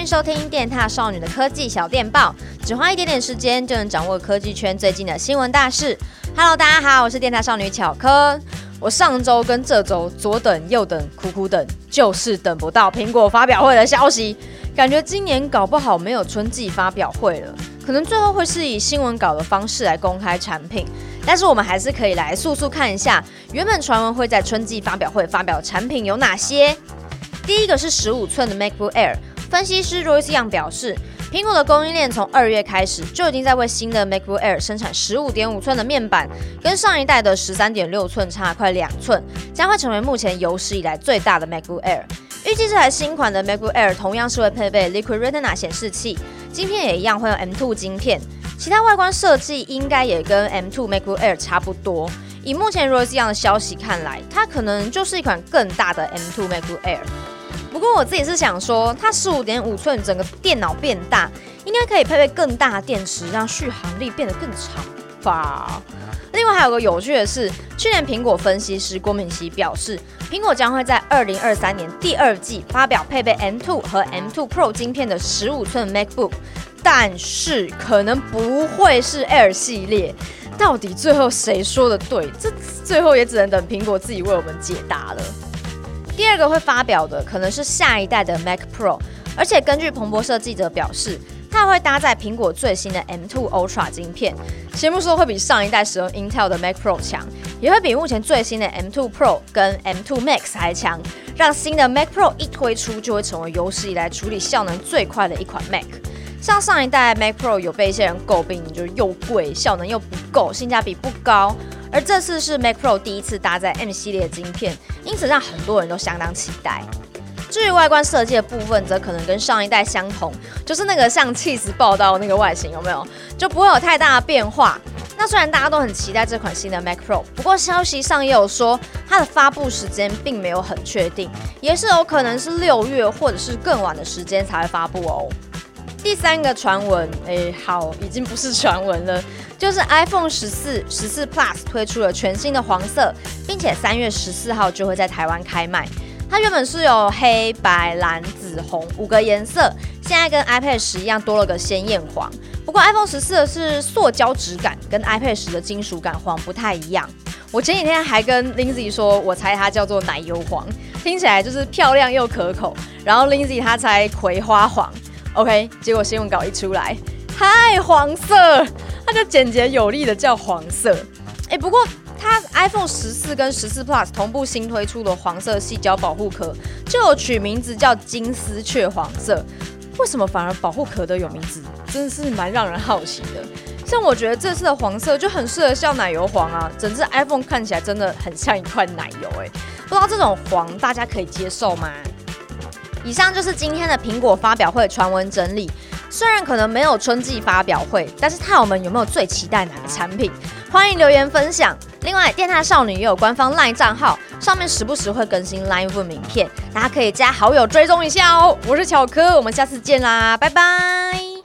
迎收聽電獺少女的科技小電報，只花一點點時間就能掌握科技圈最近的新聞大事。Hello， 大家好，我是電獺少女巧科。我上周跟這周左等右等苦苦等，就是等不到蘋果發表會的消息。感覺今年搞不好沒有春季發表會了，可能最後會是以新聞稿的方式來公開產品。但是我們還是可以來速速看一下，原本傳聞會在春季發表會發表的產品有哪些。第一個是15寸的 MacBook Air， 分析師 Royce Young 表示，蘋果的供應鏈從2月開始就已經在為新的 MacBook Air 生產 15.5 寸的面板，跟上一代的 13.6 寸差快2寸，將會成為目前有史以來最大的 MacBook Air。預計這台新款的 MacBook Air 同樣是會配備 Liquid Retina 顯示器，晶片也一樣會用 M2 晶片，其他外觀設計應該也跟 M2 MacBook Air 差不多。以目前 Royce Young 的消息看來，它可能就是一款更大的 M2 MacBook Air。不過我自己是想說，它 15.5 寸整個電腦變大，應該可以配備更大的電池，讓續航力變得更長吧。另外還有個有趣的是，去年蘋果分析師郭敏熙表示，蘋果將會在2023年第二季發表配備 M2 和 M2 Pro 晶片的15寸 MacBook， 但是可能不會是 Air 系列。到底最後誰說的對？這最後也只能等蘋果自己為我們解答了。第二個會發表的可能是下一代的 Mac Pro， 而且根據彭博社記者表示，它會搭載蘋果最新的 M2 Ultra 晶片，節目說會比上一代使用 Intel 的 Mac Pro 強，也會比目前最新的 M2 Pro 跟 M2 Max 還強，讓新的 Mac Pro 一推出就會成為有史以來處理效能最快的一款 Mac。像上一代 Mac Pro 有被一些人詬病，就是又貴，效能又不夠，性價比不高。而這次是 Mac Pro 第一次搭載 M 系列的晶片，因此讓很多人都相當期待。至於外觀設計的部分，則可能跟上一代相同，就是那個像起司報道那個外形，有沒有？就不會有太大的變化。那雖然大家都很期待這款新的 Mac Pro， 不過消息上也有說，它的發布時間並沒有很確定，也是有可能是6月或者是更晚的時間才會發布哦。第三個傳聞，好，已經不是傳聞了，就是 iPhone 14、14 Plus 推出了全新的黃色，並且3月14號就會在台灣開賣。它原本是有黑白藍紫紅5個顏色，現在跟 iPad 10一樣多了個鮮豔黃。不過 iPhone 14的是塑膠質感，跟 iPad 10的金屬感黃不太一樣。我前幾天還跟 Lindsay 說，我猜它叫做奶油黃，聽起來就是漂亮又可口。然後 Lindsay 她猜葵花黃。OK， 結果新聞稿一出來，嗨，黃色，它就簡潔有力的叫黃色。不過它 iPhone 14跟14 Plus 同步新推出的黃色矽膠保護殼，就有取名字叫金絲雀黃色。為什麼反而保護殼的有名字？真的是蠻讓人好奇的。像我覺得這次的黃色就很適合叫奶油黃啊，整隻 iPhone 看起來真的很像一塊奶油。不知道這種黃大家可以接受嗎？以上就是今天的蘋果發表會傳聞整理。雖然可能沒有春季發表會，但是獺友們有沒有最期待哪個產品？歡迎留言分享。另外，電獺少女也有官方 LINE 賬號，上面時不時會更新 LINE Room 影片，大家可以加好友追蹤一下哦。我是巧科，我們下次見啦，拜拜。